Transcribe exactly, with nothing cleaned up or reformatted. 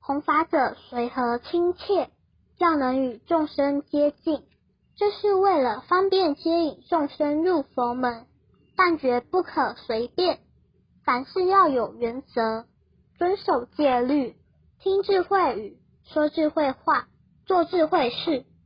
弘法者随和亲切，较能与众生接近。这是为了方便接引众生入佛门，但绝不可随便，凡事要有原则，遵守戒律，听智慧语，说智慧话，做智慧事。